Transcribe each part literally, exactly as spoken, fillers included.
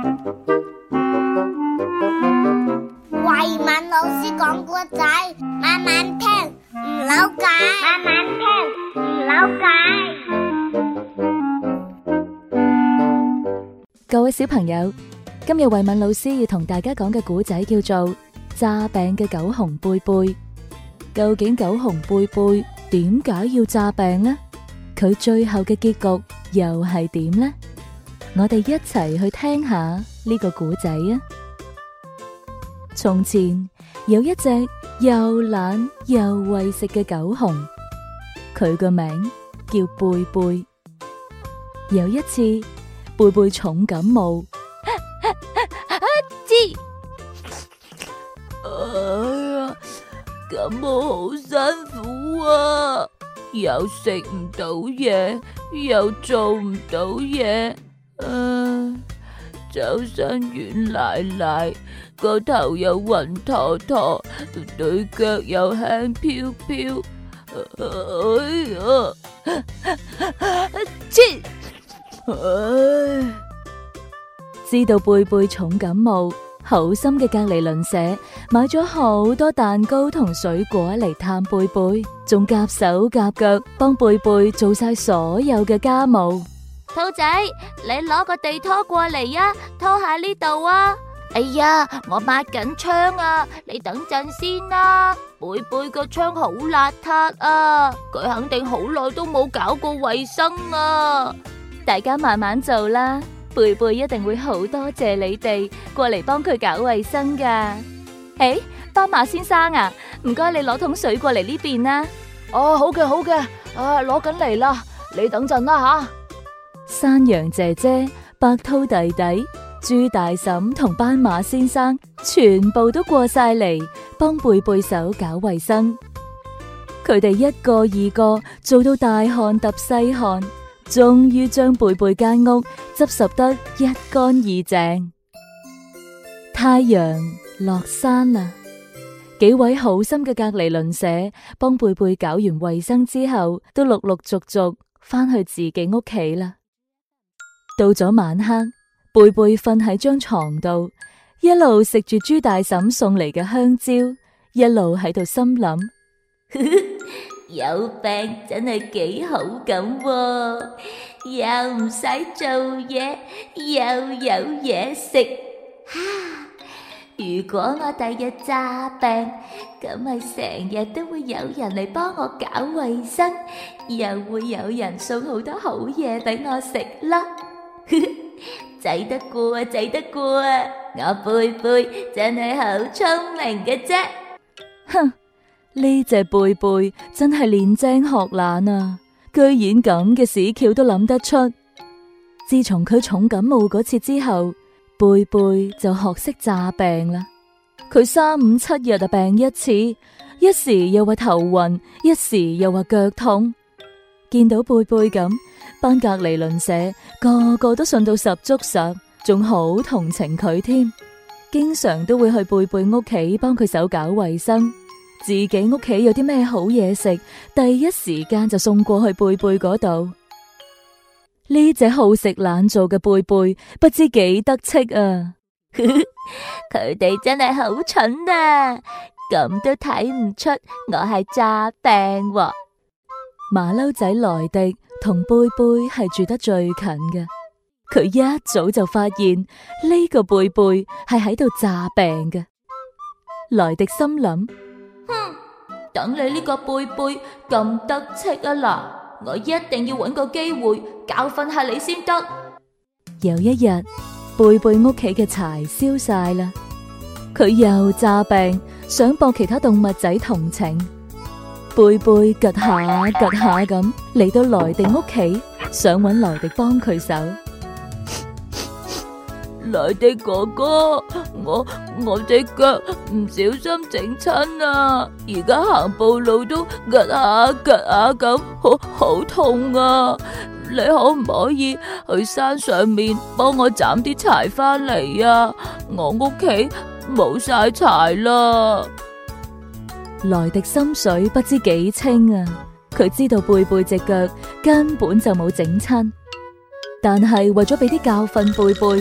慧敏老師講故仔，慢慢聽，唔扭計，慢慢聽，唔扭計。各位小朋友，今日慧敏老師要同大家講嘅故仔叫做詐病嘅狗熊貝貝。究竟狗熊貝貝點解要詐病呢？佢最後嘅結局又係點呢？我哋一齊去聽下呢個故仔啊！從前有一隻又懶又為食嘅狗熊，佢個名叫貝貝。有一次，貝貝重感冒， 知，哎呀，感冒好辛苦啊！又食唔到嘢，又做唔到嘢，誒，周身軟賴賴，個頭又暈陀陀，對腳又輕飄飄，哎呀，切！唉， 知道貝貝重感冒，好心嘅隔籬鄰舍買咗好多蛋糕同水果嚟探貝貝，仲夾手夾腳幫貝貝做晒所有嘅家務。 兔仔，你攞個地拖過嚟啊，拖下呢度啊！哎呀，我抹緊窗啊，你等陣先啦。貝貝個窗好邋遢啊，佢肯定好耐都冇搞過衛生啊。 大家慢慢做啦，貝貝一定會好多謝你哋過嚟幫佢搞衛生噶。誒，斑馬先生啊，唔該你攞桶水過嚟呢邊啦。 哦，好嘅好嘅，啊，攞緊嚟啦，你等陣啦吓。 山羊姐姐、白兔弟弟、豬大嬸同斑馬先生全部都過晒嚟幫貝貝手搞衛生。佢哋一個二個做到大汗揼細汗，終於將貝貝間屋執拾得一乾二淨。太陽落山啦，幾位好心嘅隔籬鄰舍幫貝貝搞完衛生之後，都陸陸續續返去自己屋企啦。到咗晚黑，貝貝瞓喺張床度，一路食住豬大嬸送嚟嘅香蕉，一路喺度心諗： 有病真係幾好咁喎，又唔使做嘢，又有嘢食。如果我第日詐病，咁咪成日都會有人嚟幫我搞衛生，又會有人送好多好嘢俾我食啦。仔得過啊，仔得過啊！我貝貝真係好聰明嘅啫。 哼，呢隻貝貝真係練精學懶啊，居然咁嘅屎橋都諗得出。自從佢重感冒嗰次之後，貝貝就學識詐病啦。佢三五七日就病一次，一時又話頭暈，一時又話腳痛。見到貝貝咁，班隔籬鄰舍個個都信到十足十，仲好同情佢添，經常都會去貝貝屋企幫佢手搞衛生。自己屋企有啲咩好嘢食，第一時間就送過去貝貝嗰度。呢隻好食懶做嘅貝貝，不知幾得戚啊！ 佢哋真係好蠢啊，咁都睇唔出我係詐病喎。 馬騮仔萊迪同貝貝係住得最近嘅，佢一早就發現呢個貝貝係喺度詐病嘅。萊迪心諗： 哼，等你呢個貝貝咁得戚啊嗱，我一定要搵個機會教訓下你先得。 有一日，貝貝屋企嘅柴燒晒啦，佢又詐病，想博其他動物仔同情。貝貝趷下趷下咁嚟到萊迪屋企，想搵萊迪幫佢手。 萊迪哥哥，我我隻腳唔小心整親啊，而家行步路都趷下趷下咁，好好痛啊！你可唔可以去山上面幫我斬啲柴翻嚟啊？我屋企冇晒柴啦。 萊迪心水不知幾清啊！佢知道貝貝隻腳根本就冇整親，但係為咗俾啲教訓貝貝，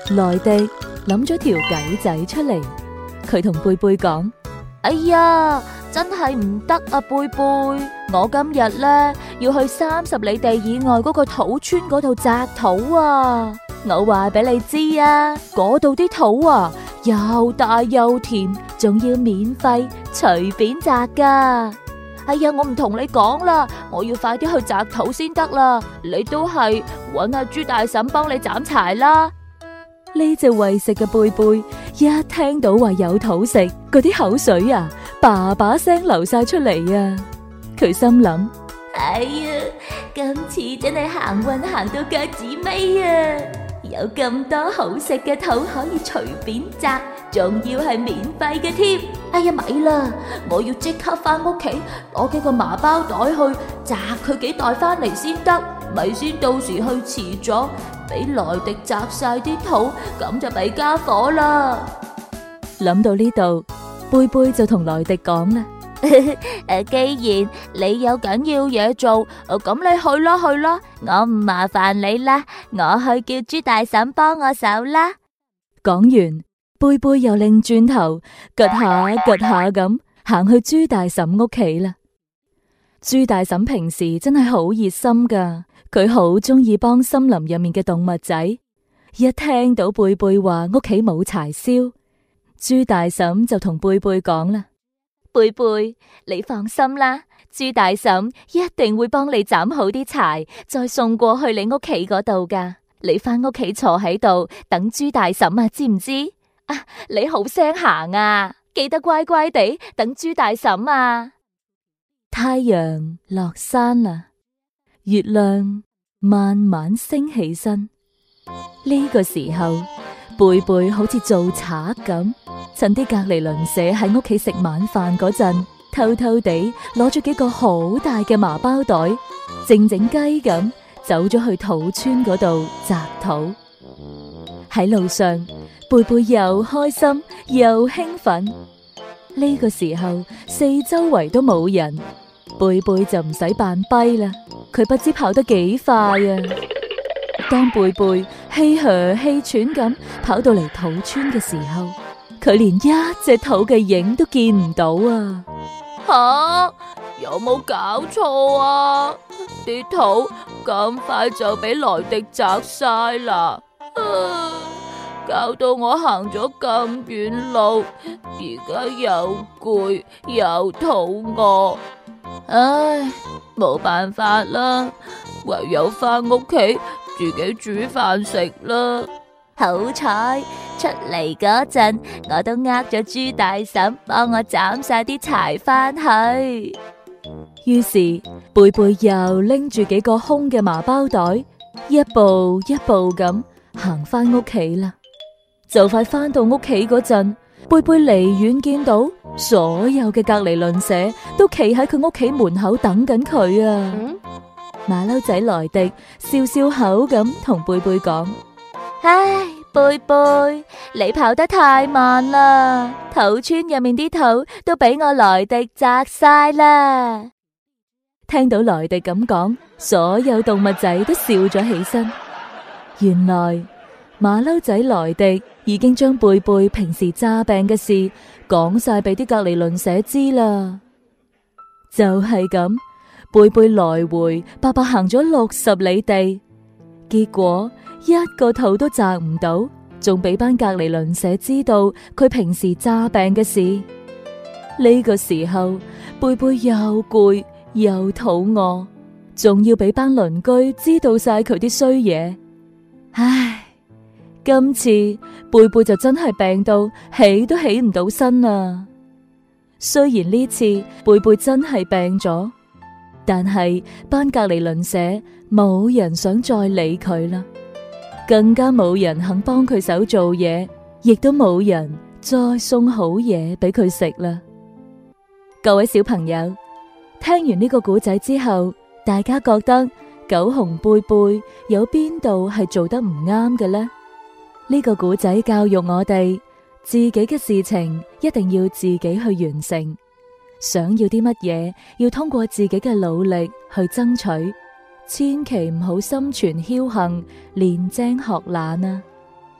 萊迪諗咗條計仔出嚟，佢同貝貝講： 哎呀，真係唔得啊，貝貝！我今日咧要去三十里地以外嗰個土村嗰度摘土啊！我話俾你知啊，嗰度啲土啊又大又甜，仲要免費隨便摘噶。哎呀，我唔同你講啦，我要快啲去摘土先得啦。你都係搵阿豬大嬸幫你斬柴啦。 呢隻為食嘅貝貝一聽到話有土食，嗰啲口水啊叭叭聲流晒出嚟啊！佢心諗： 哎呀，今次真係行運行到腳趾尾啊！有咁多好食嘅土可以隨便摘，仲要係免費嘅添。 哎呀，咪啦，我要即刻翻屋企攞幾個麻包袋去摘佢幾袋翻嚟先得，咪先到時去遲咗俾萊迪摘晒啲土，咁就弊家伙啦。 諗到呢度，貝貝就同萊迪講啦： 誒，既然你有緊要嘢做，咁你去啦去啦，我唔麻煩你啦，我去叫豬大嬸幫我手啦。 講完，貝貝又擰轉頭，趷下趷下咁行去豬大嬸屋企啦。豬大嬸平時真係好熱心噶，佢好中意幫森林入面嘅動物仔。一聽到貝貝話屋企冇柴燒，豬大嬸就同貝貝講啦： 貝貝，你放心啦，豬大嬸一定會幫你斬好啲柴，再送過去你屋企嗰度噶。你翻屋企坐喺度等豬大嬸啊，知唔知？啊，你好聲行啊，記得乖乖地等豬大嬸啊。 太陽落山啦，月亮慢慢升起身。呢個時候，貝貝好似做賊咁，趁啲隔離鄰舍喺屋企食晚飯嗰陣，偷偷地攞咗幾個好大嘅麻包袋，靜靜雞咁走咗去土村嗰度摘土。喺路上，貝貝又開心又興奮。呢個時候，四周圍都冇人，貝貝就唔使扮跛啦。佢不知跑得幾快啊！當貝貝氣噓氣喘咁跑到嚟土村嘅時候，佢連一隻土嘅影都見唔到啊！ 吓，有冇搞錯啊？啲土咁快就俾萊迪摘晒啦，啊，搞到我行咗咁遠路，而家又攰又肚餓，唉，冇辦法啦，唯有翻屋企自己煮飯食啦。 好彩出嚟嗰陣，我都呃咗豬大嬸幫我斬晒啲柴翻去。 於是貝貝又拎住幾個空嘅麻包袋，一步一步咁行翻屋企啦。就快翻到屋企嗰陣，貝貝離遠見到所有嘅隔離鄰舍都企喺佢屋企門口等緊佢啊！ 嗯、 馬騮仔萊迪笑笑口咁同貝貝講： 唉，貝貝，你跑得太慢啦，土村入面啲土都俾我萊迪摘晒啦。 聽到萊迪咁講，所有動物仔都笑咗起身。原來馬騮仔萊迪已經將貝貝平時詐病嘅事講晒俾啲隔離鄰舍知啦。就係咁，貝貝來回白白行咗六十里地，結果一個土都摘唔到，仲俾班隔離鄰舍知道佢平時詐病嘅事。呢個時候，貝貝又攰又肚餓，仲要俾班鄰居知道晒佢啲衰嘢。唉，今次貝貝就真係病到起都起唔到身啊！雖然呢次貝貝真係病咗，但係班隔離鄰舍冇人想再理佢啦，更加冇人肯幫佢手做嘢，亦都冇人再送好嘢俾佢食啦。各位小朋友，聽完呢個故仔之後，大家覺得狗熊貝貝有邊度係做得唔啱嘅呢？呢個故仔教育我哋，自己嘅事情一定要自己去完成，想要啲乜嘢要通過自己嘅努力去爭取，千祈唔好心存僥倖，練精學懶啊！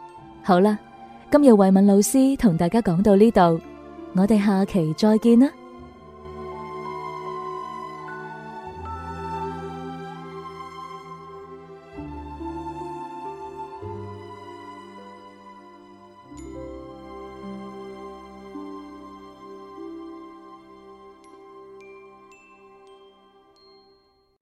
好啦，今日慧敏老師同大家講到呢度，我哋下期再見啦。